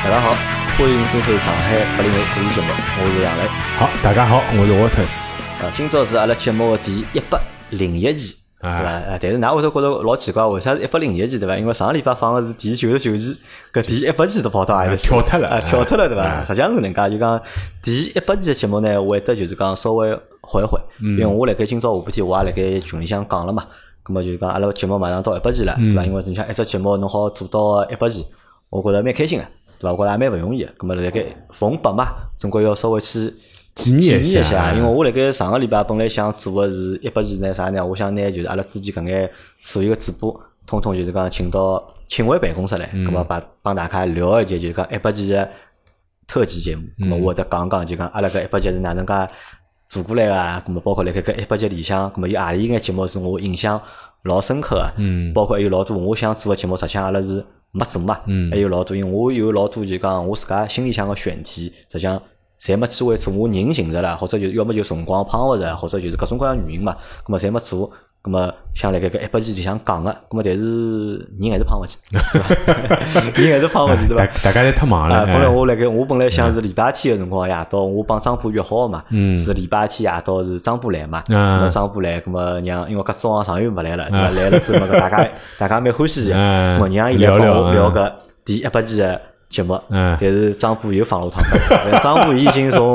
大家好，欢迎收听上海80后故事节目，我是杨磊。 好，大家好，我是沃特斯。 今朝是阿拉节目的第101期，对伐？但是㑚会得觉得老奇怪，为啥是101期，对伐？因为上个礼拜放的是第99期，搿第100期都跑到阿里跳脱了， 跳脱了，对伐？实际上是搿能介，就讲第100期的节目呢，会得就是讲稍微缓一缓，因为我辣盖今朝下半天我也辣盖群里向讲了嘛。咁么就是讲阿拉节目马上到100期了，对伐？因为你像一只节目侬好做到100期，我觉着蛮开心个，对伐？我觉着也蛮勿容易个。咁么辣盖逢100嘛，总归要稍微去纪念一下。因为我辣盖上个礼拜本来想做个是100期呢啥呢？我想拿就是阿拉之前搿眼所有个主播，统统就是讲请回办公室来，咁么帮大家聊一节就是讲100期个特辑节目。咁么我会得讲就讲阿拉搿100期是哪能介做过来个，咁么包括辣盖搿100集里向，咁么有何里眼节目是我印象老深刻个，包括还有老多我想做个节目，实际上阿拉是没做嘛，还有老多，因为我有老多就讲我自家心里向个选题，实际上侪没机会做，我人寻着了，或者就要么就辰光碰勿着，或者就是各种各样原因嘛，咁么侪没做。咁么想辣盖搿100期里向讲个，咁么但是人还是碰勿起，人还是碰勿起，对伐？ 大家侪太忙了。 本来我本来想是礼拜天个辰光夜到，我帮张波约好个嘛，是礼拜天夜到是张波来嘛，咁么张波来，咁么让因为搿早上上又没来了，对伐？来了之后嘛，大家蛮欢喜个，咁么让伊来帮我聊搿第100期个节目，但是张波又放了趟鸽子，张波已经从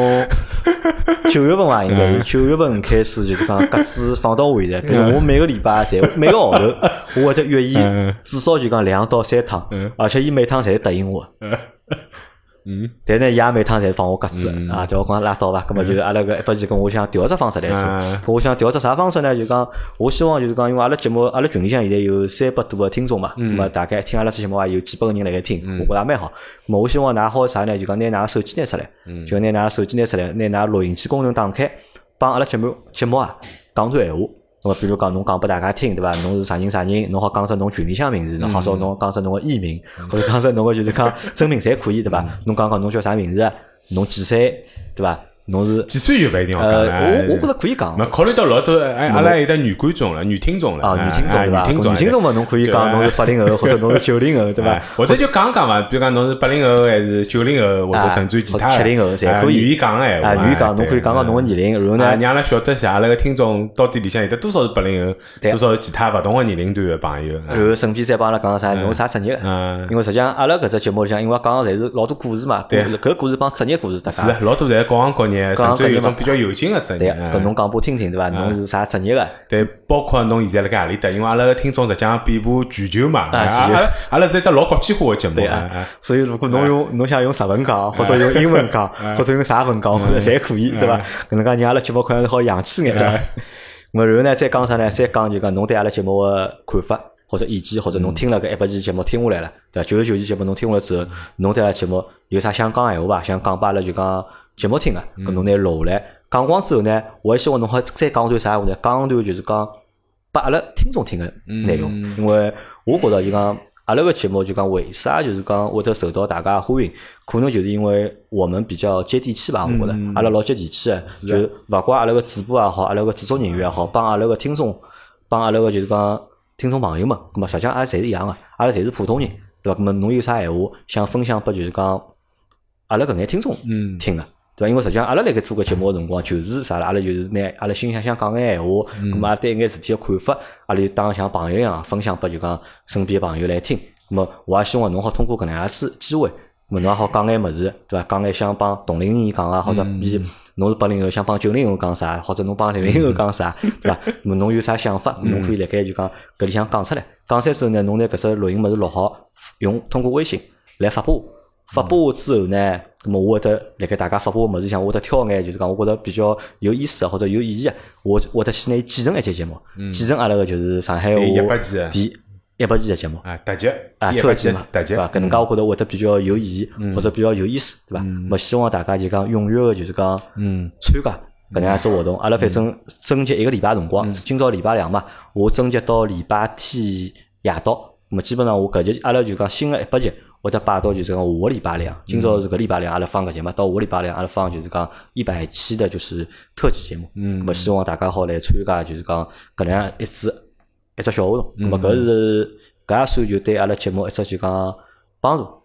9月份伐，应该是9月份开始就是讲鸽子放到位的。比如我每个礼拜每个号头，我会得约伊至少就讲2到3趟，而且伊每趟侪答应我。但呢，伊也每趟侪放我鸽子啊，叫我讲拉倒吧。咁么就是阿拉搿100期跟我想调只方式来做，我想调只啥方式呢？就讲我希望就是讲，因为阿拉节目阿拉群里向现在有300多个听众嘛，咁么大概听阿拉这节目也有几百个人辣盖听，我觉着也蛮好。咁么我希望㑚好啥呢？就讲拿㑚手机拿出来，就拿㑚手机拿出来，拿㑚录音机功能打开，帮阿拉节目啊讲段闲话。咁么比如讲侬讲拨大家听，对伐？侬是啥人，侬好讲出侬群里向名字，侬好说侬讲出侬个艺名，或者讲出侬个就是讲真名侪可以，对伐？侬讲侬叫啥名字，侬几岁，对伐？侬是几岁就勿一定要讲我觉着可以讲。 考虑到老多阿拉有得女观众了，女听众了。 女听众对伐？女听众嘛，侬可以讲侬是80后或者侬是90后，对伐？ 或者就讲嘛，比如讲侬是80后还是90后，或者甚至于其他 70后侪可以。 愿意讲个闲话， 愿意讲侬可以讲讲侬个年龄，然后呢， 让阿拉晓得下阿拉个听众到底里向有得多少是80后，多少是其他勿同个年龄段个朋友。 然后顺便再帮阿拉讲啥，侬啥职业个？因为实际上阿拉搿只节目里向，因为讲个侪是老多故事嘛，搿故事帮职业故事搭界。 是，老多侪各行各业，甚至有种比较有劲个职业。 搿侬讲拨听听，对伐？侬是啥职业个？ 对，包括侬现在辣盖何里搭？因为阿拉个听众实际上遍布全球嘛，阿拉是一只老国际化个节目。 所以如果侬想用日文讲，或者用英文讲，或者用啥文讲，侪可以，对伐？搿能介让阿拉节目好像好洋气眼，对伐？咾然后呢，再讲啥呢？再讲就讲侬对阿拉节目个看法或者意见，或者侬听了搿100期节目听下来了，对伐？99期节目侬听下来之后，侬对阿拉节目有啥想讲闲话伐？想讲拨阿拉就讲节目听个，搿侬拿录下来。讲光之后呢，我也希望侬好再讲段啥话呢？讲段就是讲拨阿拉听众听个内容，因为我觉着就讲阿拉个节目就讲为啥就是讲会得受到大家欢迎，可能就是因为我们比较接地气吧，我觉着阿拉老接地气个，就勿怪阿拉个主播也好，阿拉个制作人员也好，帮阿拉个听众，帮阿拉个就是讲听众朋友们，咁么实际上也侪是一样个，阿拉侪是普通人，对伐？咁么侬有啥闲话想分享拨就是讲阿拉搿眼听众听个。对伐？因为实际上阿拉辣盖做个节目个辰光，就是啥啦？阿拉就是拿阿拉心里想讲眼闲话，咁么阿拉对一眼事体个看法，阿拉就当像朋友一样分享拨就讲身边个朋友来听。咁么我也希望侬好通过搿能样子机会，咁么侬也好讲眼物事，对伐？讲眼想帮同龄人讲啊，或者比侬是80后想帮90后讲啥，或者侬帮00后讲啥，对伐？咁么侬有啥想法，侬可以辣盖就讲搿里向讲出来。讲出来之后呢，侬拿搿只录音物事录好，通过微信来发布。发布之后呢，咁么我会得辣盖大家发布个物事上，我会得挑眼就是讲我觉着比较有意思或者有意义个，我会得先拿伊剪成一节节目，剪成阿拉个就是上海话第100期个节目特辑特辑嘛， 特辑对伐？搿能介我觉着会得比较有意义或者比较有意思，对伐？咁么希望大家就讲踊跃个就是讲参加搿能样子活动。阿拉反正征集1个礼拜辰光，今朝礼拜2嘛，我征集到礼拜天夜到，咁么基本上我搿节阿拉就讲新个100集。会得摆到就是讲下个礼拜2，今朝是搿礼拜2阿拉放搿节嘛，到下个礼拜2阿拉放就是讲100期的就是特辑节目。咁么希望大家好来参加，就是讲搿能样一只小活动。咁么搿也算就对阿拉节目一只就讲帮助。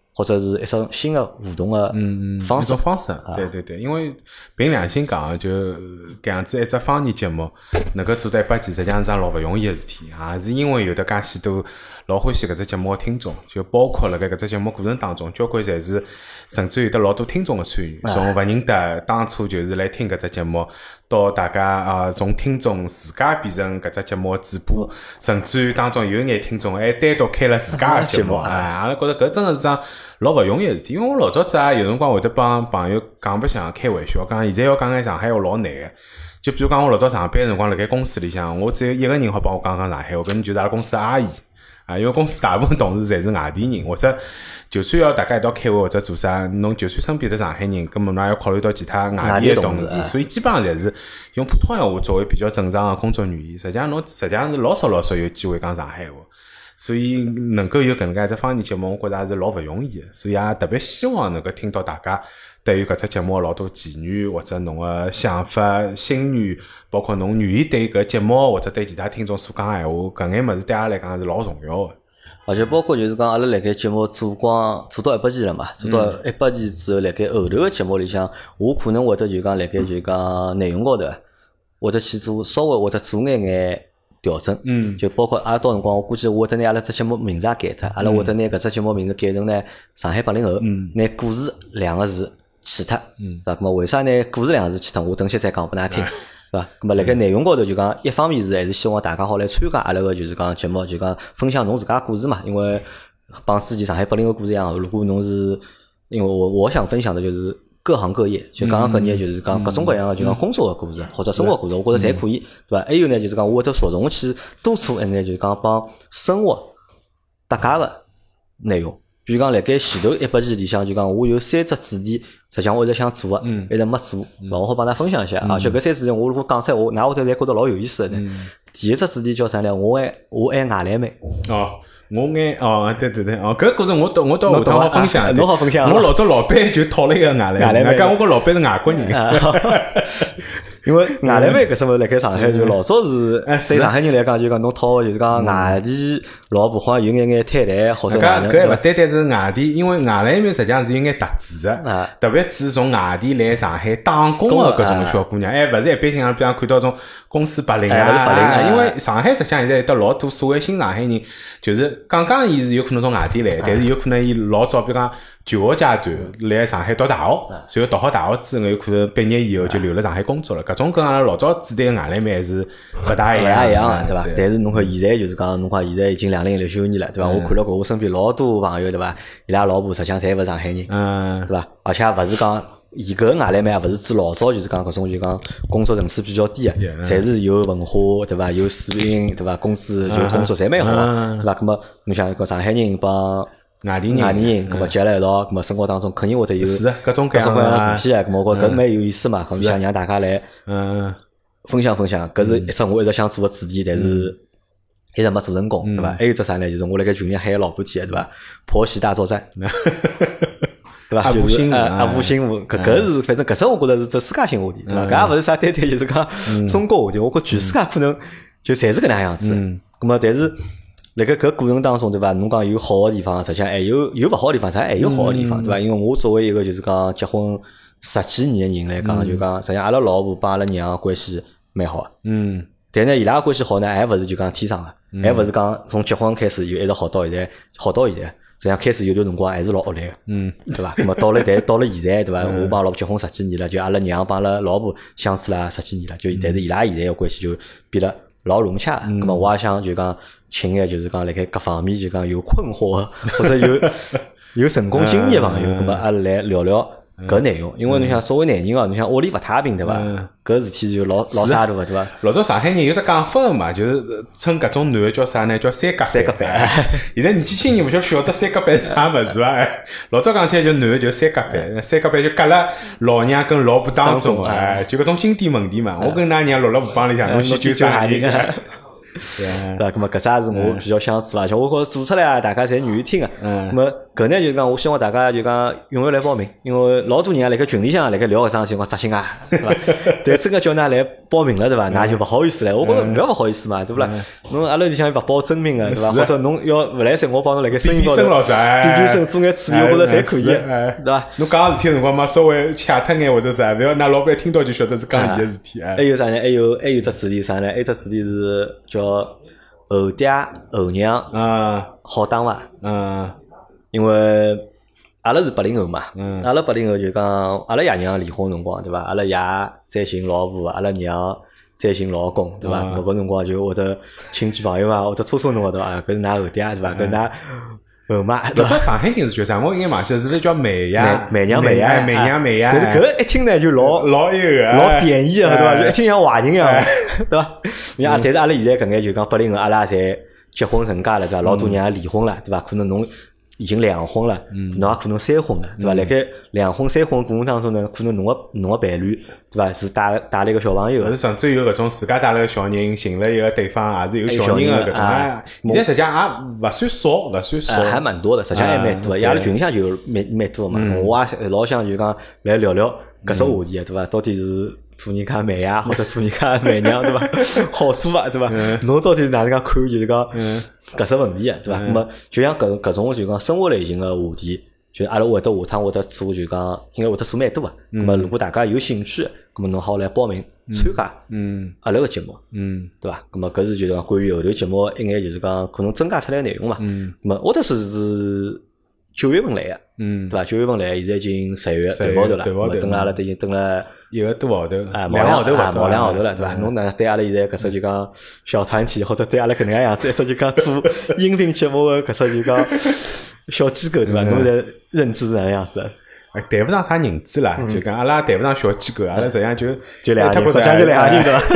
或者是一种新的互动的方式。 一种方式，对，因为凭良心讲，就搿样子一只方言节目能够做到100期，实际上是桩老勿容易的事体，也是因为有得介许多老欢喜搿只节目的听众，就包括辣盖搿只节目过程当中，交关侪是甚至有得老多听众的参与，从勿认得当初就是来听搿只节目，到大家从听众自家变成搿只节目的主播，甚至于当中有眼听众还单独开了自家的节目，阿拉觉得搿真的是桩老勿容易的事体。因为我老早子有辰光会得帮朋友讲白相开玩笑，讲现在要讲眼上海话老难个。就比如讲我老早上班辰光辣盖公司里向，我只有一个人好帮我讲上海话，搿人就是阿拉公司的阿姨。因为公司大部分同事侪是外地人，或者就算要大家一道开会或者做啥，侬就算身边的上海人，根本侬也要考虑到其他外地的同事，所以基本上侪是用普通闲话作为比较正常的工作语言。实际上是老少有机会讲上海话，所以能够有搿能介一只方言节目，我觉着也是老勿容易的。所以也特别希望能够听到大家对于搿只节目老多建议，或者侬个想法、心愿，包括侬愿意对搿节目或者对其他听众所讲闲话，搿眼物事对阿拉来讲是老重要的。 而且包括就是讲阿拉辣盖节目做到100期了嘛，做到100期之后，辣盖后头个节目里向，我可能会得就讲辣盖就讲内容高头会得去做稍微会得做眼调整，就包括阿拉到辰光，我估计我会得拿阿拉只节目名字也改脱，阿拉会得拿搿只节目名字改成呢上海80后，拿故事2个字去脱，是吧？咁么为啥拿故事2个字去脱？我等歇再讲拨㑚听。是吧？咁么辣盖内容高头就讲，一方面是还是希望大家好来参加阿拉个就是讲节目，就讲分享侬自家故事嘛。因为帮之前上海80后故事一样，如果侬是因为我想分享的就是各行各业，就各行各业就是讲各种各样的就讲工作的故事或者生活故事，我觉着侪可以，对吧？还有呢就是讲我会得着重去多做一眼就是讲帮生活搭界个内容。比如讲辣盖前头100期里向就讲我有3只主题，实际上我一直想做个，一直没做，我好帮大家分享一下啊。就搿3主题我如果讲出来，㑚会得侪觉得老有意思的呢。第一只主题叫啥呢？我爱外来妹。 对，搿故事我到下趟好分享， 侬好分享。 我老早老板就讨了一个外来妹，讲我个老板是外国人。 因为外来妹搿什么辣盖上海就老早是对上海人来讲就讲侬讨就是讲外地老婆好像有眼摊台或者哪能。 搿勿单单是外地，因为外来妹实际上是有眼特质的，特别是从外地来上海打工的搿种小姑娘，勿是一般性比方看到种公司白领因为上海实际上现在有得老多所谓新上海人，就是刚伊是有可能从外地来，但是有可能伊老早比如讲求学阶段来上海读大学，随后读好大学之后有可能毕业以后就留辣上海工作了。搿种跟阿拉老早指对个外来妹还是勿大一样的，对伐？但是侬看现在就是讲，侬看现在已经2019年了，对伐？我看了过我身边老多朋友，对伐？伊拉老婆实际上侪勿是上海人，对伐？而且也勿是讲伊搿外来妹也勿是指老早就是讲搿种就讲工作层次比较低个，侪是有文化，对伐？有水平，对伐？工资就工作侪蛮好个，对伐？葛末侬想搿上海人帮外地人，葛末结了一道，葛末生活当中肯定会得有各种各样的事体啊，葛末我觉搿蛮有意思嘛，咁想让大家来分享分享，搿是一只我一直想做个主题，但是一直没做成功，对伐？还有只啥呢？就是我辣盖群里喊老半天，对伐？婆媳大作战，对伐？就是阿部新闻，搿是反正搿只我觉着是只世界性话题，对伐？搿也勿是啥单单就是讲中国话题，我觉全世界可能就侪是搿能样子。咁么但是辣盖搿过程当中，对伐？侬讲有好个地方，实际上还有勿好个地方，还有好个地方，对伐？因为我作为一个就是讲结婚10几年的人来讲，就讲实际上阿拉老婆帮阿拉娘关系蛮好个。但呢，伊拉关系好呢，还勿是就讲天生个，还勿是讲从结婚开始就一直好到现在，实际上开始有段辰光还是老恶劣个，对伐？那么到了现在，对伐？我帮老婆结婚10几年了，就阿拉娘帮阿拉老婆相处了10几年了，就但是伊拉现在个关系就变得老融洽。那么我也想就讲请个就是讲辣盖各方面就讲有困惑或者有成功经验个朋友，那么阿拉来聊聊搿内容。因为侬想作为男人哦，侬想屋里勿太平，对伐？搿事体就老沙大个，对伐？ 老早上海人有只讲法个嘛，就是称搿种男个叫啥呢？叫三角板。现在年纪轻人勿晓得三角板是啥物事伐？老早讲起来就男个就三角板，三角板就隔了老娘跟老婆当中，就搿种经典问题嘛。我跟㑚娘落了河浜里向，侬先救啥人？ 对伐？咁么搿啥是我比较想做，而且我觉着做出来啊，大家侪愿意听个。咁么搿呢就讲，我希望大家就讲踊跃来报名，因为老多人啊辣盖群里向辣盖聊搿桩事体，我扎心啊，对伐？ 但真个叫㑚来报名了对伐？㑚就勿好意思唻。我觉着勿要勿好意思嘛，对勿啦？侬阿拉里向又勿报真名个对伐？或者侬要勿来三，我帮侬辣盖声音高头比声做眼处理，我觉着侪可以，对伐？ 侬讲事体辰光嘛，稍微掐脱眼或者啥，勿要㑚老板听到就晓得是讲伊个事体。 还有啥呢？还有只主题啥呢？还有只主题是叫后爹后娘好打伐？因为阿拉是80后嘛，阿拉80后就讲阿拉爷娘离婚辰光对伐？阿拉爷再寻老婆，阿拉娘再寻老公对伐？搿辰光就会得亲戚朋友啊，会得戳侬对伐？搿是㑚后爹对伐？搿㑚后妈。 搿只上海人是叫啥？我应该忘记了，是勿是叫媚呀？ 媚娘但是搿一听呢就老那个老贬义个对伐？就一听像坏人一样，对伐？但是阿拉现在搿眼就讲80后，阿拉侪结婚成家了对伐？老多人也离婚了对伐？可能侬已经两婚了，侬也可能三婚了，对伐？辣盖两婚三婚过程当中呢，可能侬个伴侣，对伐？是带了一个小朋友， 是甚至有搿种自家带了个小人，寻了一个对方也是有小人个搿种啊。现在实际上也勿算少， 还蛮多的，实际上还蛮多的。阿拉群里向就蛮多嘛。我也老想就讲来聊聊搿只话题对伐？到底是做人家媚呀，或者做人家媚娘对伐？好处伐对伐？侬到底是哪能介看就是讲搿只问题啊对伐？那么就像搿种就讲生活类型个话题，就阿拉会得下趟会得做就讲应该会得做蛮多个。那么如果大家有兴趣，那么侬好来报名参加阿拉个节目对伐？那么搿是就讲关于后头节目一眼就是讲可能增加出来个内容嘛。那么沃特斯是9月份来个对伐？9月份来，现在已经10月头号头了，等了阿拉已经等了 1个多号头， 毛2号头伐？毛2号头了，对伐？侬哪能对阿拉现在搿只就讲小团体，或者对阿拉搿能介样子一只就讲做音频节目个搿只就讲小机构对伐？侬在认知是哪能样子？ 谈勿上啥人资啦，就讲阿拉谈勿上小机构，阿拉实际上就两人，实际上就两人对伐？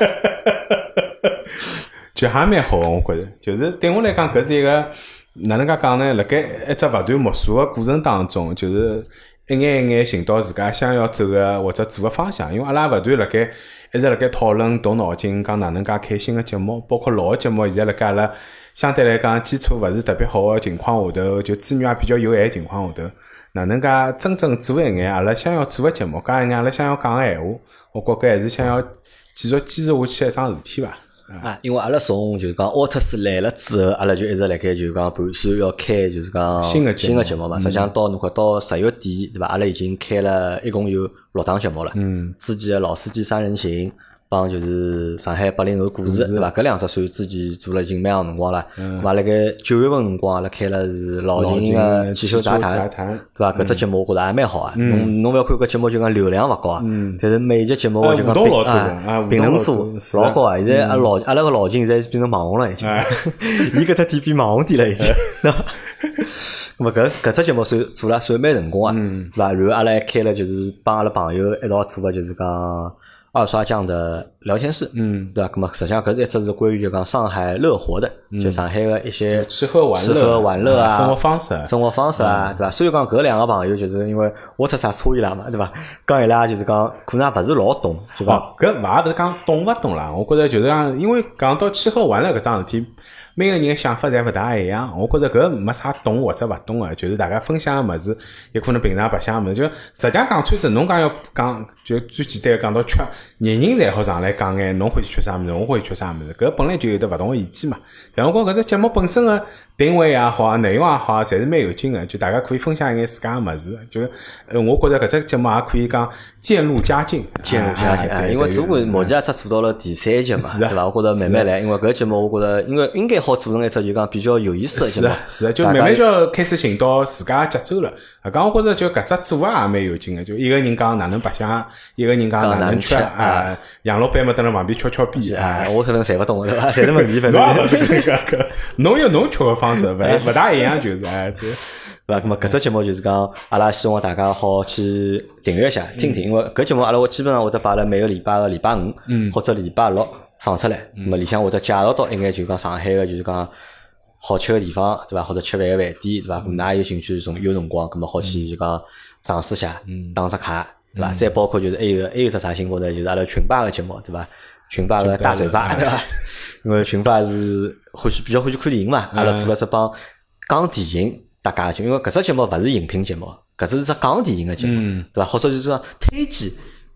就还蛮好，我觉着，就是对我来讲，搿是一个哪能介讲呢？辣盖一只勿断摸索个过程当中，就是一眼一眼寻到自家想要走个或者做个方向。因为阿拉勿断辣盖一直辣盖讨论动脑筋，讲哪能介开新个节目，包括老个节目，现在辣盖阿拉相对来讲基础勿是特别好个情况下头，就资源也比较有限情况下头，哪能介真正做一眼阿拉想要做个节目，讲一眼阿拉想要讲个闲话，我觉搿还是想要继续坚持下去一桩事体伐。 因为阿拉从就是讲沃特斯来了之后，阿拉就一直辣盖就是讲盘算要开就是讲新个节目嘛。实际上到侬看到10月底对伐？阿拉已经开了一共有6档节目了。之前的老司机三人行帮就是上海80后故事对伐？搿两只算之前做了已经蛮长辰光了。嘛辣盖9月份辰光阿拉开了是老秦个汽修杂谈对伐？搿只节目我觉着也蛮好啊。侬勿要看搿节目就讲流量勿高啊，但是每一集节目就讲评论数老高啊。现在阿拉个老秦现在变成网红了已经，伊搿只店变网红店了已经。那么搿只节目做了算蛮成功啊，对伐？然后阿拉还开了就是帮阿拉朋友一道做个就是讲二刷匠的聊天室，对吧？那么实际上搿是一只是关于就讲上海乐活的，就上海的一些吃喝玩乐啊，生活方式啊，对吧？所以讲搿两个朋友就是因为我特啥差伊拉嘛，对吧？讲伊拉就是讲可能也勿是老懂，对吧？ 搿勿是讲懂勿懂啦，我觉着就是讲，因为讲到吃喝玩乐搿桩事体，每个人的想法侪勿大一样。我觉着搿没啥懂或者勿懂个，就是大家分享个物事，也可能平常白相个物事。就实际上讲穿子，侬讲要讲，就最简单个讲到吃，人人侪好上来讲眼，侬欢喜吃啥物事，我欢喜吃啥物事，搿本来就有得勿同个意见嘛。但我觉搿只节目本身个定位也好，内容也好，侪是蛮有劲个，就大家可以分享一眼自家个物事。就我觉着搿只节目也可以讲渐入佳境， 因为只不过目前也只做到了第3集嘛，对伐？我觉着慢慢来，因为搿节目我觉着，因为应该好做成一只就讲比较有意思个节目， 是就慢慢就要开始寻到自家节奏了。讲我觉着就搿只做法也蛮有劲个，就一个人讲哪能白相，一个人讲哪能吃啊，杨老板嘛蹲辣旁边敲边我可能侪勿懂对伐？侪是问题，反正侬有侬吃个方式，勿大一样，就是对。 对伐？那么搿只节目就是讲，阿拉希望大家好去订阅一下，听听，因为搿节目阿拉基本上会得摆辣每个礼拜个礼拜5或者礼拜6放出来。那么里向会得介绍到一眼就讲上海个就是讲好吃个地方，对伐？或者吃饭个饭店，对伐？咁㑚有兴趣有辰光，咁么好去就讲尝试下，打只卡，对伐？再包括就是还有只啥新闻呢？就是阿拉群霸个节目，对伐？群霸个大嘴巴，对伐？因为群霸是比较欢喜看电影嘛，阿拉做了只帮讲电影大家节目，因为搿只节目勿是影评节目，搿只是只讲电影个节目，对伐？或者就是说推荐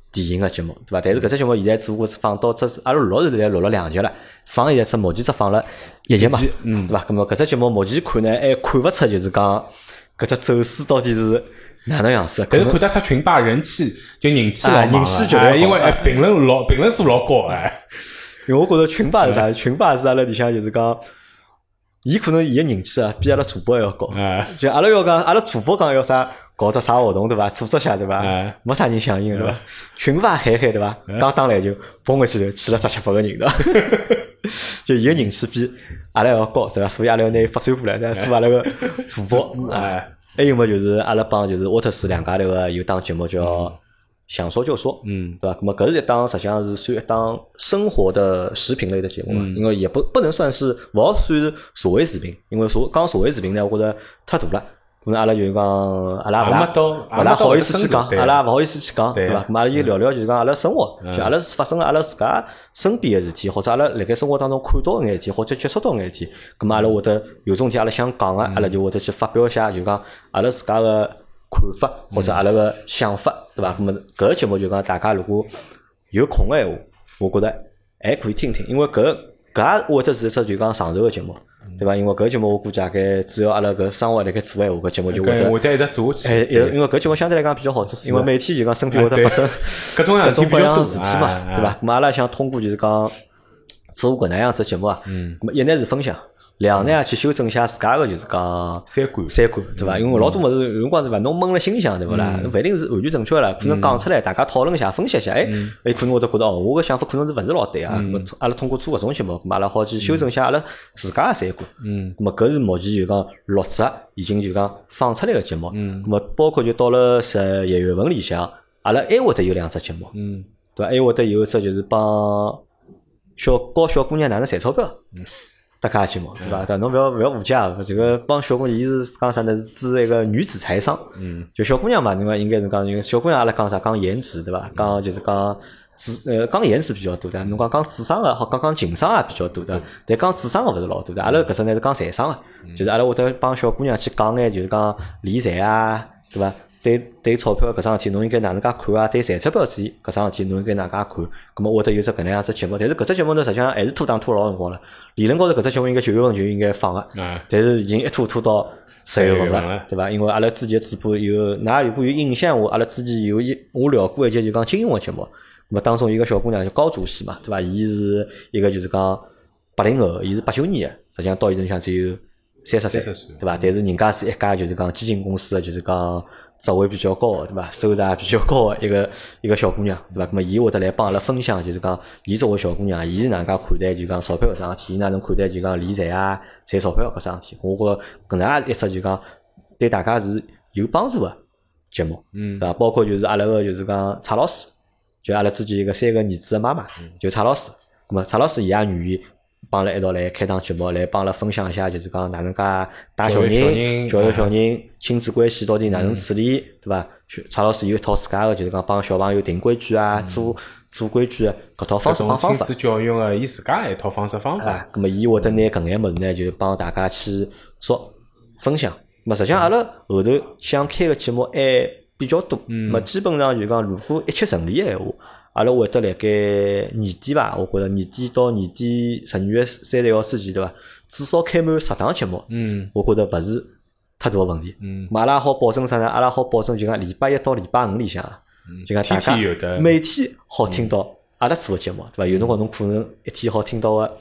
电影个节目，对伐？但是搿只节目现在只不过是放到阿拉录是录了2集了，放现在只目前只放了1集嘛，对伐？咁么搿只节目目前看呢，还看勿出就是讲搿只走势到底是哪能样子？ 但是看得出群霸人气老人气绝对因为评论数老高哎。 因为我觉着群霸是啥？群霸是阿拉里向就是讲。伊可能伊个人气啊，比阿拉主播还要高。就阿拉要讲，阿拉主播讲要啥搞只啥活动对伐？组织下对伐？没啥人响应对伐？群霸海对伐？刚打篮球，蹦回去头去了17-8个人对伐？就伊个人气比阿拉要高对伐？所以阿拉要拿伊发展过来，做阿拉个主播。还有么就是阿拉帮就是沃特斯两家头个有档节目叫。想说就说，对吧？那么搿是一档实际上是算一档生活的视频类的节目嘛，因为也不能算是，勿好算是社会视频，因为讲社会视频呢，我觉着太大了，可能阿拉就讲阿拉勿大好意思去讲，阿拉勿好意思去讲，对吧？咁阿拉就聊聊就是讲阿拉生活，就阿拉发生阿拉自家身边个事体，或者阿拉辣盖生活当中看到眼事体，或者接触到眼事体，咁阿拉会得有种事体阿拉想讲个，阿拉就会得去发表一下，就讲阿拉自家个。看法或者阿拉个想法，对伐？那么搿个节目就讲大家如果有空个闲话，我觉得还可以听听，因为搿也会得是一只就讲长寿个节目，对伐？因为搿节目我估计大概只要阿拉搿生活辣盖做闲话，搿节目就会得一直做下去。 因为搿节目相对来讲比较好做，因为每天就讲身边会得发生各种各样事体嘛，对伐？那么阿拉想通过就是讲做搿能样子节目啊，那么一呢是分享。2呢去修正一下自家个就是讲三观对伐？因为老多物事有辰光对伐？侬闷了心里向对勿啦？侬勿一定是完全正确了，可能讲出来大家讨论一下、分析一下，可能会得觉得哦，我个想法可能是勿是老对啊。咁么阿拉通过做搿种节目，咁阿拉好去修正一下阿拉自家个三观。咁么搿是目前就讲录制已经就讲放出来个节目。咁么包括就到了11月份里向，阿拉还会得有2只节目。对伐？还会得有一只就是帮小姑娘哪能赚钞票。搭卡节目对伐？但侬勿要误解啊！这个帮小姑娘，伊是讲啥呢？是指一个女子财商。就小姑娘嘛，应该是讲，因为小姑娘阿拉讲啥？讲颜值对伐？讲就是讲讲颜值比较多的。侬讲智商个，好讲情商也比较多的。但讲智商个勿是老多的。阿拉搿只呢是讲财商个，就是阿拉会得帮小姑娘去讲眼，就是讲理财啊，对伐？对钞票搿桩事体，侬应该哪能介看啊？对赚钞票事体搿桩事体，侬应该哪能介看？咁么会得有只搿能样子节目，但是搿只节目呢，实际上还是拖档拖老辰光了。理论高头搿只节目应该9月份就应该放个，但是已经一拖到10月份了，对伐？因为阿拉之前主播有，㑚如果有印象阿拉之前我聊过一节就讲金庸个节目，咁么当中一个小姑娘叫高主席嘛，对伐？伊是一个就是讲80后，伊是89年个，实际上到现在里向只有30岁，对伐？但是人家是一家就是讲基金公司个，就是讲。职位比较高，对伐？收入也比较高的一个小姑娘，对伐？那么伊会得来帮阿拉分享，就是讲伊作为小姑娘，伊是哪能介看待就讲钞票搿桩事体，伊哪能看待就讲理财啊、赚钞票搿桩事体。我觉着搿能一只就讲对大家是有帮助个节目，对伐？包括就是阿拉个就是讲蔡老师，就阿拉之前一个3个儿子的妈妈，就蔡老师。那么蔡老师伊也愿意。帮阿拉一道来开档节目，来帮阿拉分享一下，就是讲哪能介带小人、教育小人、亲子关系到底哪能处理，对伐？蔡老师有一套自家个，就是讲帮小朋友定规矩啊、做规矩搿套方式方法。 亲子教育个伊自家一套方式方法。 咁么伊会得拿搿眼物事呢，就帮大家去说分享。咁实际上阿拉后头想开个节目还比较多，咁基本上就讲如果一切顺利个闲话。阿拉会得辣盖年底吧，我觉着年底到年底12月31号之前，对伐？至少开满10档节目，我觉着勿是太大个问题。阿拉好保证啥呢？阿拉好保证就讲礼拜1到礼拜5里向，就讲大家每天好听到阿拉做个节目，对伐？有辰光侬可能一天好听到个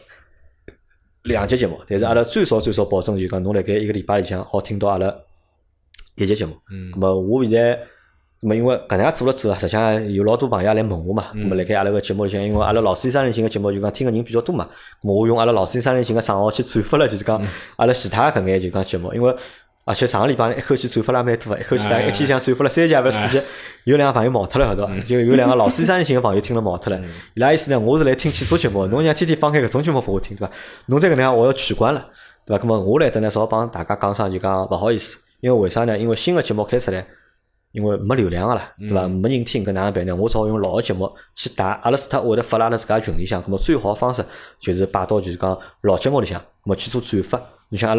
2集节目，但是阿拉最少保证就讲侬辣盖一个礼拜里向好听到阿拉1集节目。咁么我现在。咁么因为搿能介做了之后，实际上有老多朋友来问我嘛。咁么辣盖阿拉个节目里向，因为阿拉老师三人行个节目就讲听个人比较多嘛。咁么我用阿拉老师三人行个账号去转发了，就是讲阿拉其他搿眼就讲节目，因为而且上个礼拜一口气转发了蛮多个，一口气大概一天像转发了3集还是4集，有2个朋友冒脱了，晓得伐？就有2个老师三人行个朋友听了冒脱了。伊拉意思呢，我是来听汽车节目，侬想天天放开搿种节目拨我听，对伐？侬再搿能样我要取关了，对伐？咁么我来等呢，少帮大家讲声就讲勿好意思，因为为啥呢？因为新个节目开出来。因为没流量个啦，对伐？没人听，搿哪能办呢？我只好用老个节目去带，阿拉除脱会得发辣阿拉自家群里向，咁么最好个方式就是摆到就是讲老节目里向，咁么去做转发。你像阿拉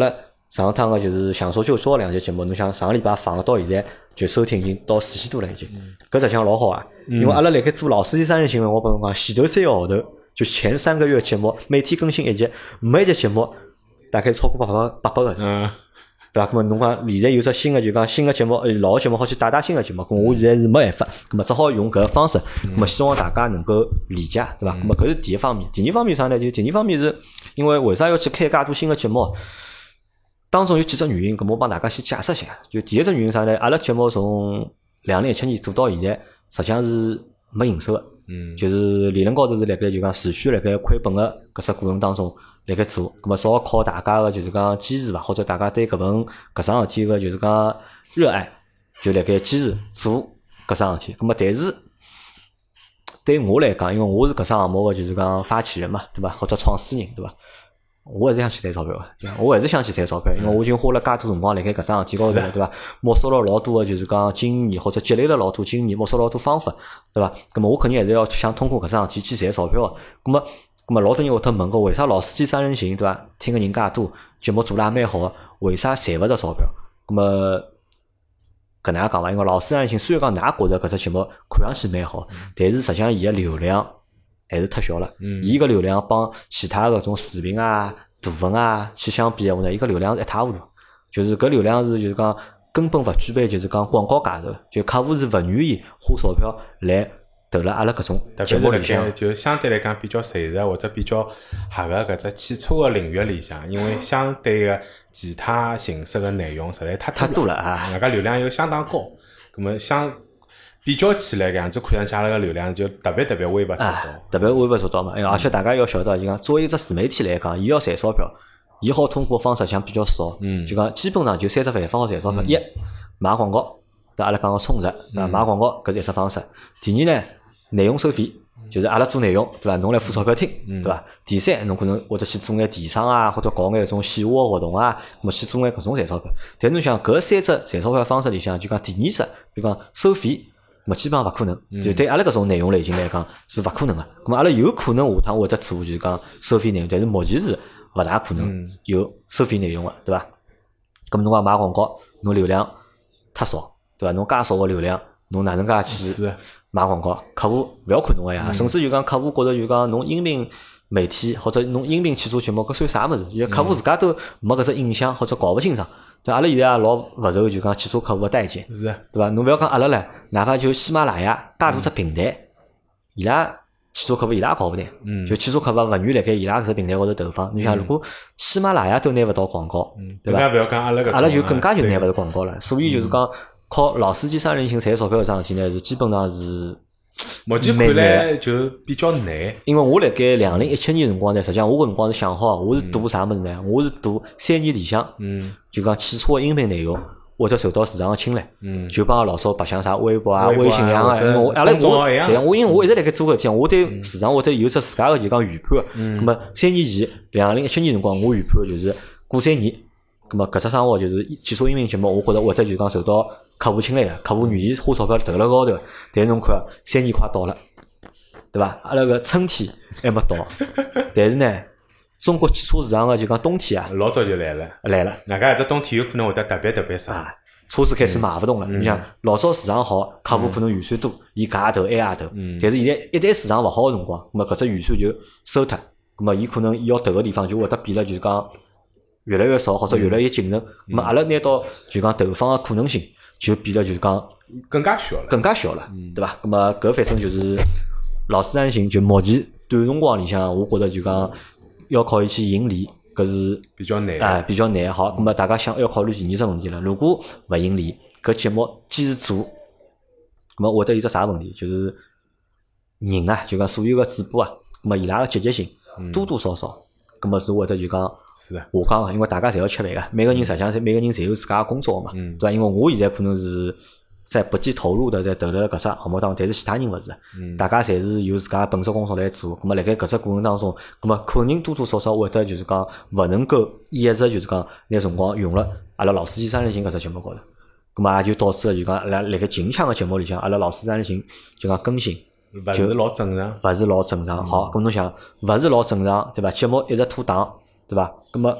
上趟个就是想说就说两节节目，侬想上个礼拜放到现在就收听已经到4000多了已经，搿实际上老好啊。因为阿拉辣盖做老司机三人行，我帮侬讲，前头3个号头就前3个月节目每天更新一集，每一集节目大概超过800个字。对伐？咁么侬讲现在有只新个就讲新个节目，老个节目好去打新个节目，咁我现在是没办法，咁么只好用搿个方式，咁么希望大家能够理解，对伐？咁么搿是第一方面。第二方面啥呢？就第二方面是因为为啥要去开介多新个节目？当中有几只原因，咁我帮大家先解释一下。就第一只原因啥呢？阿拉节目从2017年做到现在，实际上是没营收个。就是理论高头是辣盖就讲持续辣盖亏本个搿只过程当中辣盖做，咁么只好靠大家个就是讲坚持伐，或者大家对搿桩事体个就是讲热爱，就辣盖坚持做搿桩事体。咁么但是对我来讲，因为我是搿桩项目个就是讲发起人嘛，对伐？或者创始人，对伐？我还是想去赚钞票个，我还是想去赚钞票，因为我已经花了介多辰光辣盖搿桩事体高头了，对伐？摸索了老多个就是讲经验，或者积累了老多经验，摸索老多方法，对伐？咁么我肯定还是要想通过搿桩事体去赚钞票个。咁么老多人会得问个，为啥老司机三人行，对伐？听个人介多，节目做了也蛮好个，为啥赚勿着钞票？咁么搿能样讲伐？因为老司机三人行虽然讲㑚觉着搿只节目看上去蛮好，但是实际上伊个流量还是太小了。伊个流量帮其他搿种视频啊、图文啊去相比闲话呢，伊个流量是一塌糊涂。就是搿流量是就是讲根本勿具备，就是讲广告价值，就客户是勿愿意花钞票来投了阿拉搿种节目里向。 就相对来讲比较垂直或者比较合个搿只汽车个领域里向，因为相对个其他形式个内容实在太多了啊， 人家流量又相当高，葛末比较起来，搿样子看上去阿拉个流量就特别微勿足道， 特别微勿足道嘛。而且大家要晓得，就讲作为一只自媒体来讲，伊要赚钞票，伊好通过方式像比较少。就讲基本上就3只办法好赚钞票：一买广告，对阿拉讲个充值，买广告搿是一只方式；第二呢，内容收费，就是阿拉做内容，对伐？侬来付钞票听，对伐？第三，侬可能会得去做眼电商啊，或者搞眼种线下活动啊，咾么去做眼搿种赚钞票。但侬想搿3只赚钞票方式里向，就讲第二只，比如讲收费。基本上勿可能，就对阿拉搿种内容类型来讲是勿可能个。咁么阿拉有可能下趟会得做，就是讲收费内容，但是目前是勿大可能有收费内容个，对伐？咁么侬讲买广告，侬流量太少，对伐？侬介少个流量，侬哪能介去买广告？客户勿要看侬个呀，甚至就讲客户觉着就讲侬音频媒体或者侬音频去做节目，搿算啥物事？因为客户自家都没搿只印象或者搞勿清爽。对，阿拉现在也老勿受就讲汽车客户个待见， 是， 对伐？侬勿要讲阿拉唻，哪怕就喜马拉雅介大只平台，伊拉汽车客户伊拉也搞勿定，就汽车客户勿愿意辣盖伊拉搿只平台高头投放。侬想，如果喜马拉雅都拿勿到广告，对伐？ 勿要讲阿拉搿， 阿拉就更加就拿勿到广告了。所以就是讲靠老司机三人行赚钞票搿桩事体呢，是基本上是。 目前看来就比较难， 因为我辣盖2017年辰光呢，实际上我搿辰光是想好，我是赌啥物事呢？我是赌3年里向，就讲汽车个音频内容会得受到市场个青睐，就帮老早白相啥微博啊、微信一样个。因为阿拉我因为我一直辣盖做搿事体，我对市场会得有只自家个就讲预判。咁么3年前2017年辰光，我预判就是过3年，咁么搿只生活就是汽车音频节目，我觉着会得就讲受到客户青睐个，客户愿意花钞票投辣高头。但是侬看3年快到了，对伐？阿拉个春天还没到，但是呢，中国汽车市场个就讲冬天啊， 老早就来了。外加只冬天有可能会得特别热啊，车子开始卖勿动了。你想老早市场好，客户可能预算多，伊搿也投，埃也投。但是现在一旦市场勿好个辰光，咁么搿只预算就收脱，咁么伊可能伊要投个地方就会得变了，就是讲越来越少，或者越来越谨慎。咁么阿拉拿到就讲投放个可能性就变了，就是讲更加小了， 对伐？咁么搿反正就是老司机行，就目前短辰光里向，我觉着就讲要靠伊去盈利，搿是比较难啊，比较难。好，咁么大家想要考虑第二只问题了。如果勿盈利，搿节目坚持做，咁么会得有只啥问题？就是人啊，就讲所有个主播啊，咁么伊拉个积极性多多少少。咁么是会得就讲是下降个，因为大家侪要吃饭个，每个人实际上每个人侪有自家个工作嘛，对伐？因为我现在可能是在不计投入的在投辣搿只项目当中，但是其他人勿是，大家侪是有自家本职工作来做。咁么辣盖搿只过程当中，咁么肯定多多少少会得就是讲勿能够一直就是讲拿辰光用了阿拉老司机三人行搿只节目高头，咁么也就导致了就讲阿拉辣盖近腔个节目里向，阿拉老司机三人行就讲更新。 勿是老正常， 勿是老正常。好，咁侬想，勿是老正常，对伐？节目一直拖档，对伐？咁么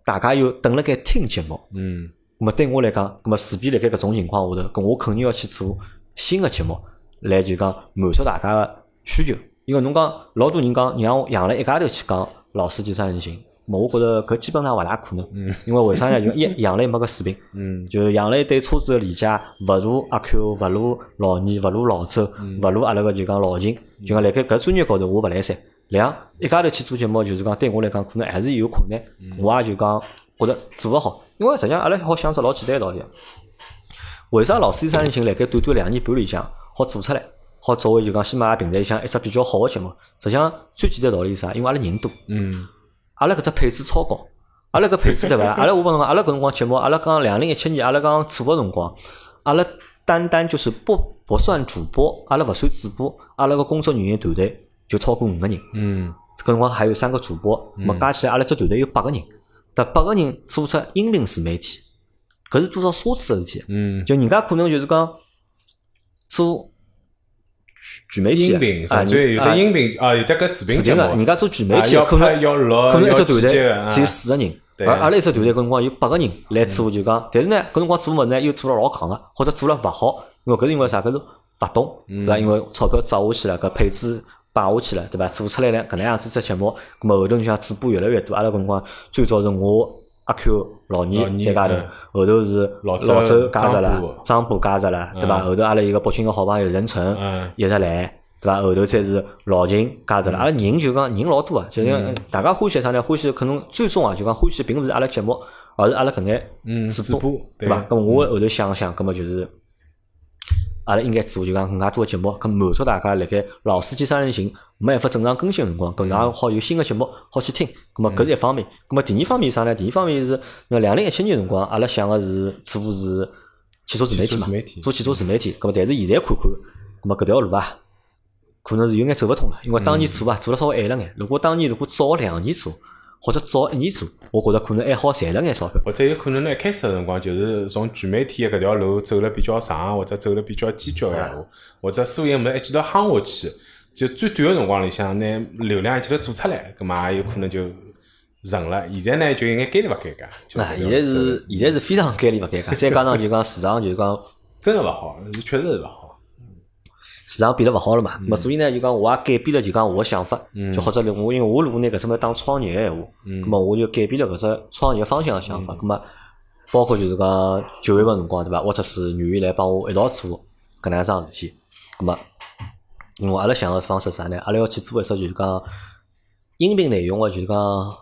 大家又等辣盖听节目，咁么对我来讲，咁么势必辣盖搿种情况下头，咁我肯定要去做新个节目，来就讲满足大家个需求。因为侬讲老多人讲让我养了一家头去讲老司机三人行，我觉着搿基本上勿大可能。因为为啥呢？就养了没个水平，就养了一对车子个理解勿如阿 Q， 勿如老二，勿如老周，勿如阿拉个就讲老秦，就讲辣盖搿专业高头我勿来三。一家头去做节目，就是讲对我来讲可能还是有困难，我也就讲觉着做勿好。因为实际上阿拉好想只老简单个道理，为啥老司机三人行辣盖短短2年半里向好做出来？好作为就讲喜马拉雅平台里向一只比较好个节目，实际上最简单道理是啥？因为阿拉人多，阿拉搿只配置超高，阿拉搿配置对伐？阿拉我帮侬讲，阿拉搿辰光节目，阿拉讲2017年，阿拉讲做个辰光，阿拉单就是不算主播，阿拉勿算主播，阿拉个工作人员团队就超过5个人。搿辰光还有3个主播，么加起来阿拉只团队有8个人，但8个人做出音频自媒体，搿是多少奢侈个事体？就人家可能就是讲做全媒体甚至有的音频有的搿视频节目， 人家做全媒体可能一只团队只有4个人，而阿拉一只团队搿辰光有8个人来做，就讲，但是呢搿辰光做物事呢又做了老戆个，或者做了勿好，因为搿是因为啥？搿是勿懂，对伐？因为钞票砸下去了，搿配置摆下去了，对伐？做出来了搿能样子只节目，咾么后头你像主播越来越多，阿拉搿辰光最早是我阿 Q 老二再加头，后头是老周加入了，张波加入了，对伐？后头阿拉一个北京个好朋友任晨一直来，对伐？后头再是老秦加入了，阿拉人就讲人老多啊，就像大家欢喜啥呢？欢喜可能最终啊，就讲欢喜并勿是阿拉节目，而是阿拉搿眼主播，对伐？咾么我后头想想，咾么就是阿拉应该做就讲更加多个节目，搿满足大家辣盖老司机三人行没办法正常更新个辰光，搿能好有新个节目好去听。咾么搿是一方面，咾么第二方面是啥呢？第二方面是2017年辰光，阿拉想个是做是汽车自媒体嘛，做汽车自媒体。咾么但是现在看看，咾么搿条路啊，可能是有眼走勿通了，因为当年做了稍微晚了眼。如果当年早2年做，或者早1年做，我觉着可能还好赚了眼钞票。 或者有可能呢，一开始个辰光就是从全媒体搿条路走了比较长，或者走了比较坚决个闲话，或者所有物事一记头夯下去，就最短个辰光里向拿流量一记头做出来，葛末也有可能就成了。现在呢，就有眼尴尬勿尴尬。 现在是非常尴尬勿尴尬，再加上就讲市场就讲真个勿好，确实是勿好。 市场变得勿好了嘛，咁所以呢，就讲我也改变了就讲我个想法，就或者我因为我如果拿搿只物当创业个闲话，咁么我就改变了搿只创业方向个想法，咁么包括就是讲9月份辰光对伐，沃特斯愿意来帮我一道做搿能样桩事体，咁么因为阿拉想个方式啥呢？阿拉要去做一只就是讲音频内容个就是讲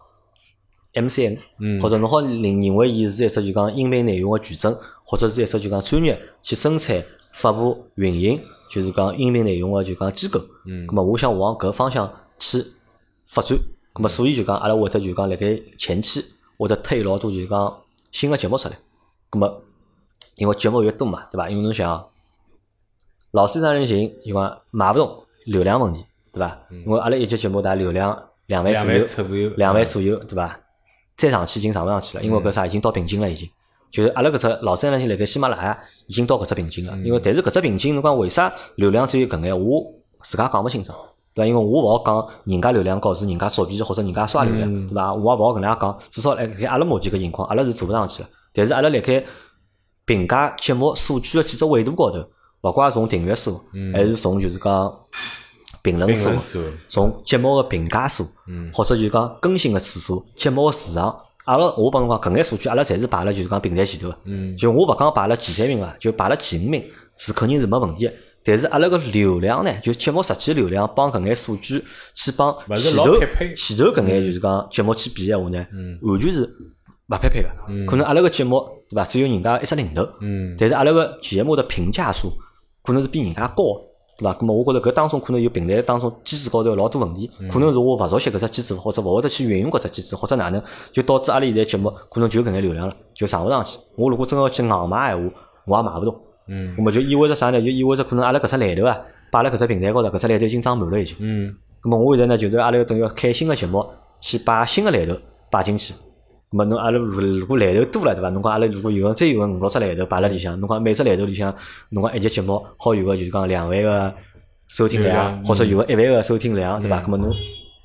MCN，或者侬好认为伊是一只就讲音频内容个矩阵，或者是一只就讲专业去生产、发布、运营。就是讲音频内容个就讲机构，咁么我想往搿方向去发展，咁么所以就讲阿拉会得就讲辣盖前期会得推老多就讲新个节目出来，咁么因为节目越多嘛，对伐？因为侬想老司机三人行，就讲买勿动流量问题，对伐？因为阿拉一集节目大流量2万左右，对伐？再上去已经上勿上去了，因为搿啥已经到瓶颈了已经。就是阿拉搿只老三人行辣盖喜马拉雅已经到搿只瓶颈了，因为但是搿只瓶颈侬讲为啥流量只有搿眼，我自家讲勿清爽，对伐？因为我勿好讲人家流量高是人家作弊或者人家刷流量，对伐？我也勿好搿能样讲，至少辣盖阿拉目前搿情况，阿拉是做勿上去了。但是阿拉辣盖评价节目数据个几只维度高头，勿怪从订阅数，还是从就是讲评论数，从节目个评价数，或者就讲更新个次数，节目个时长。阿拉我帮侬讲，搿眼数据阿拉侪是排了就是讲平台前头个，就我勿讲排了前3名啊，就排了前5名是肯定是没问题个。但是阿拉个流量呢，就节目实际流量帮搿眼数据去帮前头搿眼就是讲节目去比闲话呢，完全是勿匹配个。可能阿拉个节目对伐，只有人家一只零头，但是阿拉个节目的评价数可能是比人家高。对伐？咁么我觉着搿当中可能有平台当中机制高头有老多问题，可能是我勿熟悉搿只机制，或者勿会得去运用搿只机制，或者哪能，就导致阿拉现在节目可能就搿眼流量了，就上勿上去。我如果真要去硬买闲话，我也买勿动。咁么就意味着啥呢？就意味着可能阿拉搿只来头啊，摆辣搿只平台高头，搿只来头已经装满了已经。咁么我现在呢，就是阿拉要等于要开新个节目，去把新个来头摆进去。咁么侬阿拉如果来头多了，对伐？侬讲阿拉如果再有个5-6只来头摆辣里向，侬讲每只来头里向，侬讲一集节目好有个就是讲2万个收听量，或者有个1万个收听量，对伐？咁么侬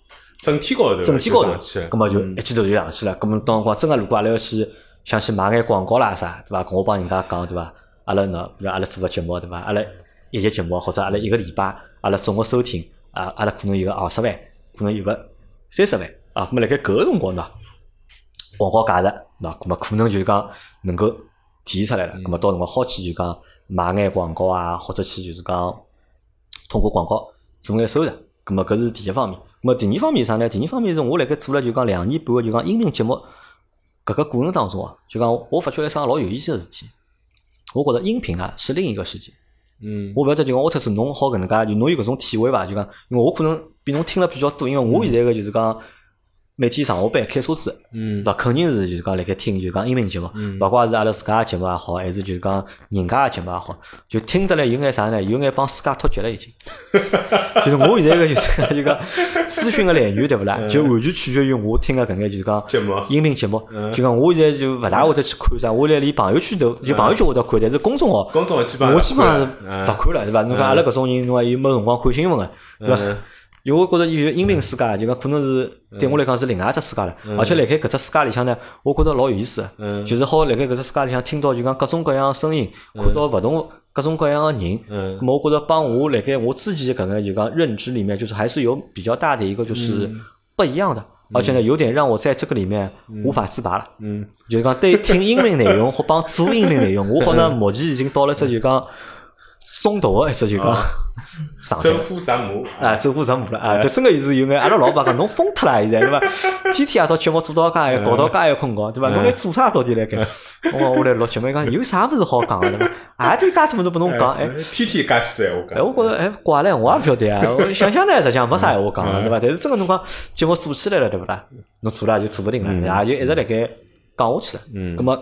整体高头， 整体高头， 咁么就一记头就上去了。咁么当辰光真个如果阿拉要去想去买眼广告啦啥，对伐？我帮人家讲对伐？阿拉喏，比如阿拉做个节目对伐？阿拉一集节目或者阿拉一个礼拜，阿拉总个收听阿拉可能有个20万，可能有个30万啊。咁么辣盖搿个辰光呢，广告价值喏，咁么可能就是讲能够体现出来了。咁么到辰光好去就讲买眼广告啊，或者去就是讲通过广告做眼收入。咁么搿是第一方面。咁么第二方面是啥呢？第二方面是我辣盖做了就讲2年半个就讲音频节目搿个过程当中啊，就讲我发觉了一桩老有意思的事体。我觉得音频啊是另一个世界。我勿晓得就讲沃特斯侬好搿能介，就侬有搿种体会伐？就讲因为我可能比侬听了比较多，因为我现在个就是讲每天上下班开车子，对伐？肯定是就是讲辣盖听就是讲音频节目，勿怪是阿拉自家个节目也好，还是就是讲人家个节目也好，就听得来有眼啥呢？有眼帮世界脱节了已经。就是我现在个就是就讲资讯个来源对勿啦？就完全取决于我听个搿眼就是讲音频节目。就讲我现在就勿大会得去看啥，我现在连朋友圈都就朋友圈会得看，但是公众号我基本上是勿看了，对伐？侬讲阿拉搿种人，侬讲又没辰光看新闻个，对伐？因为我觉着有音频世界，就讲可能是对我来讲是另外一只世界了，而且辣盖搿只世界里向呢，我觉着老有意思的，就是好辣盖搿只世界里向听到就讲各种各样的声音，看到勿同各种各样的人，那么我觉着帮我辣盖我自己搿个就讲认知里面，就是还是有比较大的一个就是不一样的，而且呢，有点让我在这个里面无法自拔了。就是讲对听音频内容或帮做音频内容，我好像目前已经到了这就讲松动个一只就讲上走火入魔啊，走火入魔了啊！这真个是有眼，阿拉老板讲侬疯脱了现在对伐？天天夜到节目做到介搞到介困觉对伐？侬来做啥到底来盖？我来录节目讲有啥物事好讲个对伐？啊，点介多么都拨侬讲哎， 天天介许多闲话讲。 我觉着怪唻，我也勿晓得啊。我想想呢，实际上没啥闲话讲对伐？但是真个侬讲节目做起来了对勿啦？侬做了就做勿定了，也就一直辣盖讲下去了。咁么？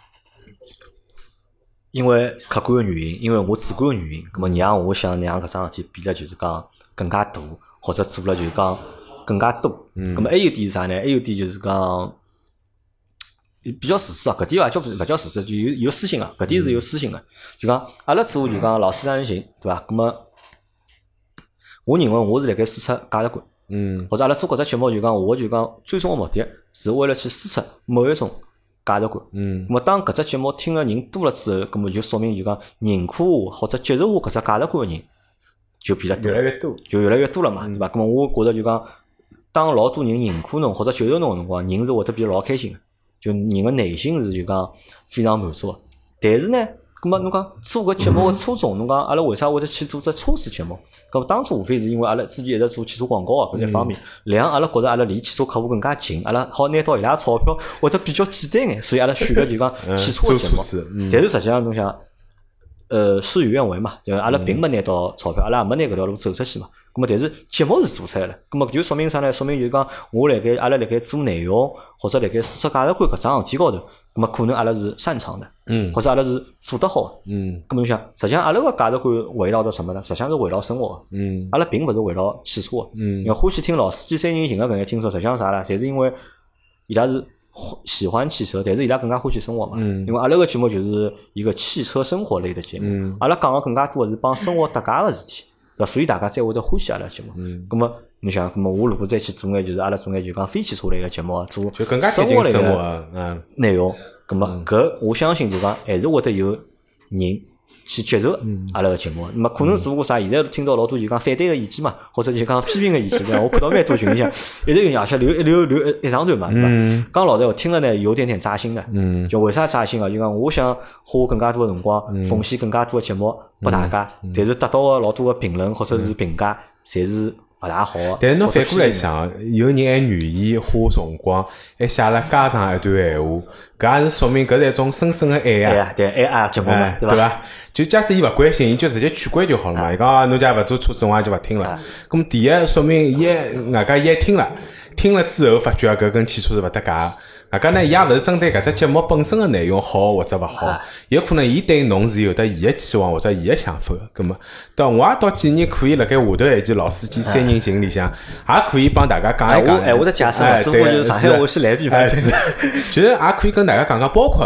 因为客观个原因，因为我主观个原因，咁么让我想让搿桩事体变得就是讲更加大，或者做了就是讲更加多。咁么还有点是啥呢？还有点就是讲比较自私啊，搿点勿叫自私，就有私心啊，搿点是有私心个。就讲阿拉做就讲老师让人行，对伐？咁么我认为我是辣盖输出价值观，或者阿拉做搿只节目就讲我就讲最终个目的是为了去输出某一种价值观，咁么当搿只节目听个人多了之后，咁么就说明就讲认可我或者接受我搿只价值观个人就变得多， 越来越多， 就越来越多了嘛，对伐？咁么我觉着就讲，当老多人认可侬或者接受侬个辰光，人是会得变得老开心个，就人个内心是就讲非常满足个。但是呢，咁么侬讲做搿节目个初衷，侬讲阿拉为啥会得去做只车子节目？咁么当初无非是因为阿拉之前一直做汽车广告啊搿一方面，两阿拉觉着阿拉离汽车客户更加近，阿拉好拿到伊拉钞票会得比较简单眼，所以阿拉选个就讲汽车个节目。但是实际上侬想，事与愿违嘛，对伐？阿拉并没拿到钞票，阿拉也没拿搿条路走出去嘛。咁么但是节目是做出来了，咁么就说明啥呢？说明就是讲我阿拉辣盖做内容或者辣盖输出价值观搿桩事体高头，咁么可能阿拉是擅长的，或者阿拉是做得好的，咁么侬想，实际上阿拉个价值观围绕着什么呢？实际上是围绕生活的，阿拉并勿是围绕汽车的，因为欢喜听老司机三人行个搿眼听众，实际上啥啦？侪是因为伊拉是喜欢汽车，但是伊拉更加欢喜生活嘛。因为阿拉个节目就是一个汽车生活类的节目，阿拉讲个更加多的是帮生活搭界个事体。对，所以大家才会得欢喜阿拉节目。咁么你想，咁么我如果再去做眼就是阿拉做眼就讲非汽车类个节目，做就更加贴近生活内容，咁么搿我相信就讲还是会得有人去接受阿拉个节目。那么可能只不过啥，现在听到老多就讲反对个意见嘛，或者就讲批评个意见，对伐？我看到蛮多群里向一直有人而且留一长段嘛，对伐？讲老实话，听了呢有点点扎心的。就为啥扎心啊？就讲我想花更加多的辰光，奉献更加多的节目拨大家，但是得到个老多个评论或者是评价，侪是勿大好。 但是侬反过来想，有人还愿意花辰光，还写了家长一段闲话，搿也是说明搿是一种深深的爱啊！ 对，爱节目嘛，对伐？就假使伊勿关心，伊就直接取关就好了嘛。伊讲侬家勿做车子，我也就勿听了。咁么第一说明外加伊还听了之后发觉搿跟汽车是勿搭界。外加呢，伊也勿是针对搿只节目本身的内容好或者勿好，有可能伊对侬是有得伊的期望或者伊的想法的。咁么，我也到建议可以辣盖下头一集老司机三人行里向，也可以帮大家讲一讲。 我的解释嘛，只不过就是上海话是来比方， 就是也可以跟大家讲讲，包括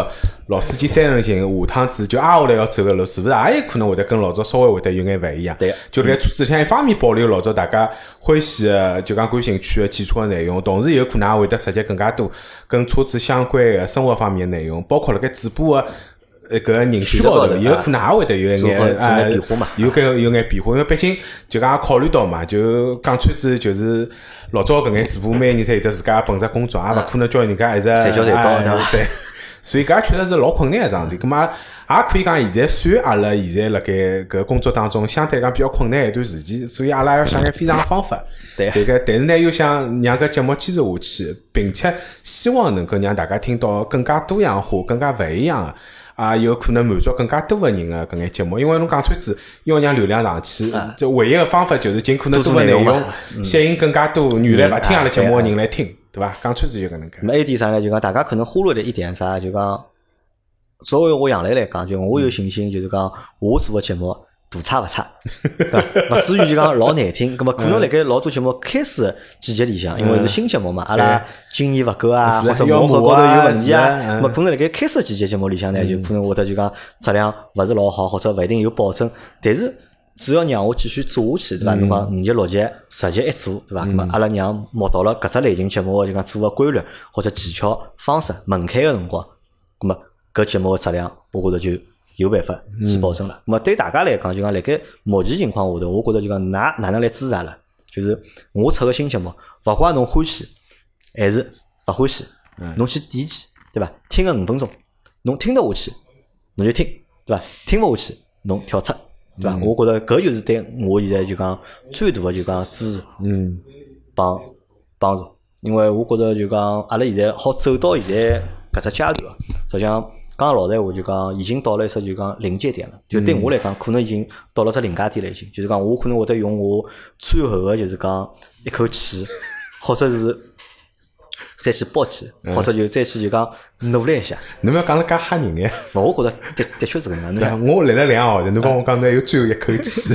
老司机三人行，下趟子就挨下来要走个路，是勿是也有可能会得跟老早稍微会得有眼勿一样？ 对， 就辣盖车子里向一方面保留老早大家欢喜的，就讲感兴趣的汽车的内容，同时有可能也会得涉及更加多跟车子相关的生活方面的内容，包括辣盖主播的搿人选高头，有可能也会得有一眼变化嘛， 有眼变化，因为毕竟就讲考虑到嘛，就讲穿子就是老早搿眼主播每年侪有得自家本职工作，也勿可能叫人家一直随叫随到， 对。所以搿确实是老困难个桩事体，咁嘛也可以讲现在算阿拉现在辣盖搿工作当中相对来讲比较困难一段时期，所以阿拉要想眼非常方法。 对个，但是呢又想让搿节目坚持下去，并且希望能够让大家听到更加多样化、更加勿一样个。有可能满足更加多个人个搿眼节目，因为侬讲穿子要让流量上去，就唯一个方法就是尽可能多个内容，吸引更加多原来勿听阿拉节目个人来听。对吧？讲穿子就搿能介。 那么 A 点啥呢？就讲大家可能忽略的一点啥？就讲作为我杨磊来讲，就我有信心，就是讲我做个节目大差勿差，对伐？勿至于就讲老难听。葛末可能辣盖老多节目开始季节里向，因为是新节目嘛，阿拉经验勿够啊，或者磨合高头有问题啊，葛末可能辣盖开始季节节目里向呢，就可能会得就讲质量勿是老好，或者勿一定有保证，但是。只要让我继续做下去，对伐？侬讲5集6集10集一做，对伐？咁么阿拉让摸到了搿只类型节目就讲做个规律或者技巧方式门槛个辰光，咁么搿节目个质量，我觉着就有办法去保证了。咁么对大家来讲，就讲辣盖目前情况下头，我觉着就讲哪能来支持阿拉？就是我出个新节目，勿怪侬欢喜还是勿欢喜，侬去点击，对伐？听个5分钟，侬听得下去，侬就听，对伐？听勿下去，侬跳出。对伐？我觉着搿就是对我现在就讲最大的就讲支持，帮助。因为我觉着就讲阿拉现在好走到现在搿只阶段，实际上讲老实话就讲已经到了一只就讲临界点了。就对我来讲，可能已经到了只临界点了，已经。就是讲我可能会得用我最后的就是讲一口气，或者是再去搏击，或者就再去就讲努力一下。 侬勿要讲了介吓人呀！ 我觉着的确是搿能介。我来了2号头，侬帮我讲侬还有最后一口气，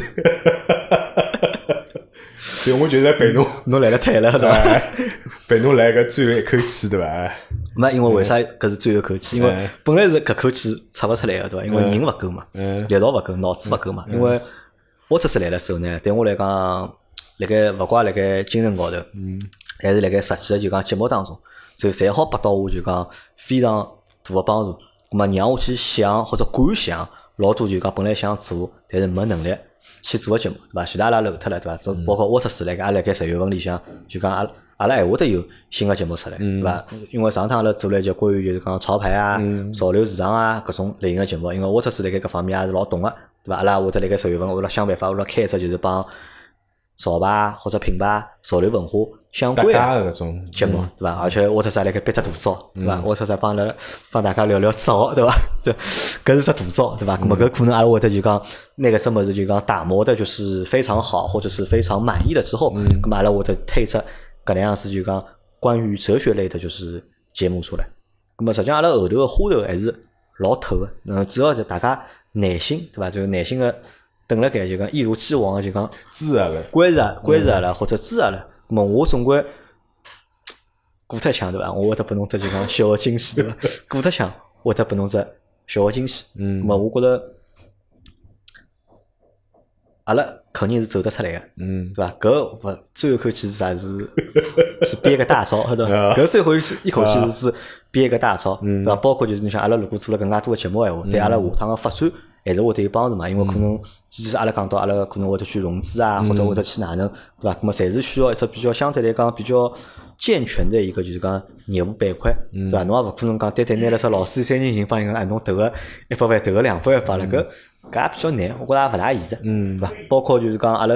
所以我就在陪侬来了太了，对伐？ 陪侬来个最后一口气，对伐？ 没，因为为啥搿是最后一口气？因为本来是搿口气出勿出来个，对伐？因为人勿够嘛，力道勿够，脑子勿够嘛。因为我这次来了之后呢，对我来讲，辣盖勿怪辣盖精神高头，还是辣盖实际的就讲节目当中，就侪好拨到我就讲非常大的帮助。咁么让我去想或者敢想老多就讲本来想做，但是没能力去做个节目，对伐？其他阿拉漏脱了，对伐？包括沃特斯辣盖，也辣盖10月份里向就讲阿拉还会得有新个节目出来，对伐？因为上趟阿拉做了一节关于就是讲潮牌啊、潮流市场啊各种类型个节目，因为沃特斯辣盖搿方面也是老懂个，对伐？阿拉会得辣盖10月份会得想办法会得开一只就是帮潮牌或者品牌、潮流文化相关的搿种节目，对伐？而且沃特斯还辣盖憋只大招，对伐？沃特斯帮大家聊聊招，对伐？对，搿是只大招，对伐？咁么搿可能阿拉会得就讲那个什么是就讲打磨的就是非常好，或者是非常满意了之后，咁么阿拉会得推出搿能样子就讲关于哲学类的就是节目出来。咁么实际上阿拉后头个花头还是老透个，主要就大家耐心，对伐？就耐心个等辣盖就讲一如既往个就讲支持阿拉， 关注阿拉或者支持阿拉。咁么我总归过脱枪，对伐？我会得拨侬只就讲小个惊喜，对伐？过脱枪，会得拨侬只小个惊喜。咁么我觉着阿拉肯定是走得出来个，对伐？搿最后一口气是啥？是憋个大招，对伐？搿最后一口气是憋个大招，对伐？包括就是你像阿拉如果做了更加多个节目闲话，对阿拉下趟个发展还是会得有帮助嘛？因为可能其实阿拉讲到阿拉可能会得去融资啊，或者会得去哪能，对伐？咁么侪是需要一只比较相对来讲比较健全的一个就是讲业务板块，对伐？侬也勿可能讲单单拿了只老司机3人行帮人讲，侬投个100万，投个200万罢了，搿也比较难，我觉着也勿大现实，对伐？包括就是讲阿拉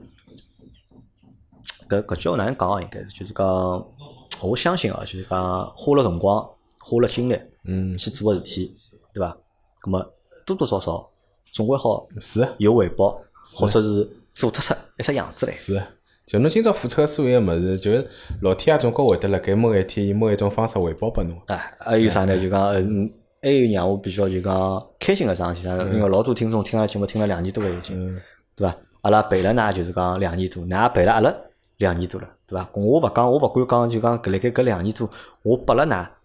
搿句话哪能讲应该是就是讲，我相信啊，就是讲花了辰光、花了精力，去做个事体，对伐？咁么多多少少总归好是有回报，或者是做得出一只样子来。 是，就侬今朝付出个所有物事，就是老天爷总归会得辣盖某一天以某一种方式回报拨侬。 还有啥呢？就讲还有让我比较就讲开心个桩事体，因为老多听众听阿拉节目听了2年多了已经，对伐？阿拉陪了㑚就是讲2年多，㑚陪了阿拉2年多了，对伐？我勿敢讲就讲辣盖搿2年多，我拨了㑚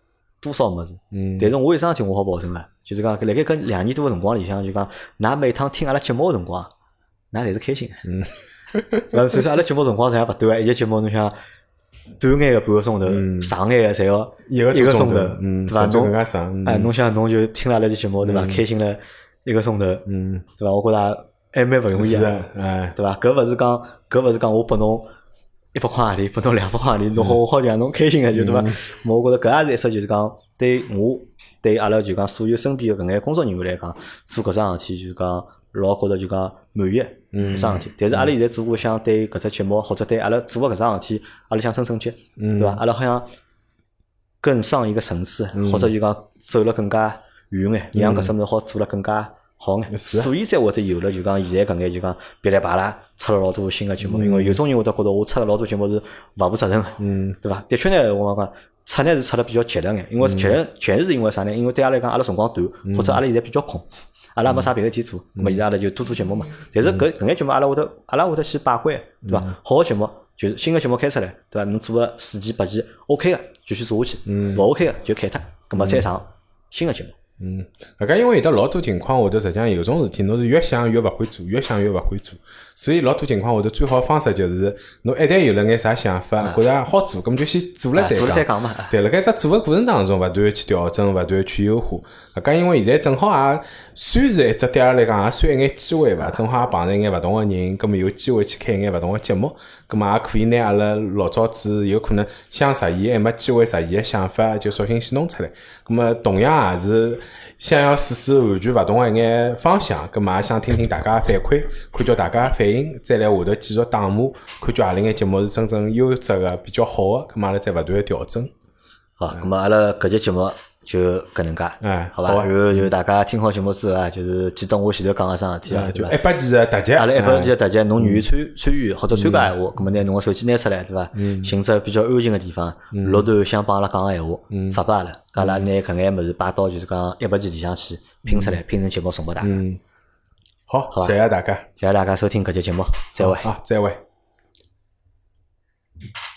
多少物事。但是我有桩事体我好保证个，就是讲辣盖搿2年多个辰光里向，就讲㑚每趟听阿拉节目个辰光，㑚侪是开心个。对伐？首先阿拉节目辰光实际上勿短，一节节目侬想短眼个半个钟头，长眼个侪要1个钟头，对伐？侬侬想侬就听了阿拉节目，对伐？开心了1个钟头，对伐？我觉着还蛮勿容易个，对伐？搿勿是讲我拨侬100块洋钿，拨侬200块洋钿，侬我好让侬开心个，就对伐？我觉着搿也是一只就是讲对我对阿拉就讲所有身边个搿眼工作人员来讲，做搿桩事体就是讲老觉着就讲满意一桩事体。但是阿拉现在只不过想对搿只节目或者对阿拉做个搿桩事体，阿拉想升升级，对伐？阿拉好像更上一个层次，或者就讲走了更加远眼，让搿只物事好做了更加好眼，所以才会得有了就讲现在搿眼就讲噼里啪啦出了老多新个节目。因为有种人会得觉得我出了老多节目是勿负责任个，对伐？的确呢，我讲出呢是出了比较急了眼，因为确实是因为啥呢？因为对阿拉来讲，阿拉辰光短，或者阿拉现在比较空，阿拉没啥别个事体做，咾么现在阿拉就多做节目嘛。但是搿眼节目阿拉会得去把关，对伐？好个节目就是新个节目开出来，对伐？侬做个4期8期 OK 个，继续做下去；勿 OK 个就砍脱，咾么再上新个节目。 搿个因为有得老多情况，会得实际上有种事体，侬是越想越勿会做，越想越勿会做。所以老多情况会得最好方式就是侬一旦有了眼啥想法，觉着好做，搿么就先做了再讲嘛。 对，辣盖只做个过程当中，勿断去调整，勿断去优化。搿因为现在正好也算是一只对阿拉来讲也算一眼机会伐，正好也碰着一眼勿同个人，搿么有机会去开一眼勿同个节目，搿么也可以拿阿拉老早子有可能想实现还没机会实现个想法，就索性先弄出来。搿么同样也是想要试试完全勿同个一眼方向，搿么也想听听大家反馈，看叫大家反应，再来下头继续打磨，看叫何里眼节目是真正优质个、比较好个，搿么阿拉再勿断调整。 好，搿么阿拉搿节节目就搿能介，好吧？然后就大家听好节目之后啊，就是记得我前头讲个桩事体啊， 就100期个特辑， 阿拉100期个特辑，侬愿意参与或者参加闲话，搿么拿侬个手机拿出来，对伐？寻只比较安静个地方，录段想帮阿拉讲个闲话，发拨阿拉，阿拉拿搿眼物事摆到就是讲100期里向去拼出来，拼成节目送拨大家。 好，谢谢大家， 谢谢大家收听搿节节目，再会。 再会。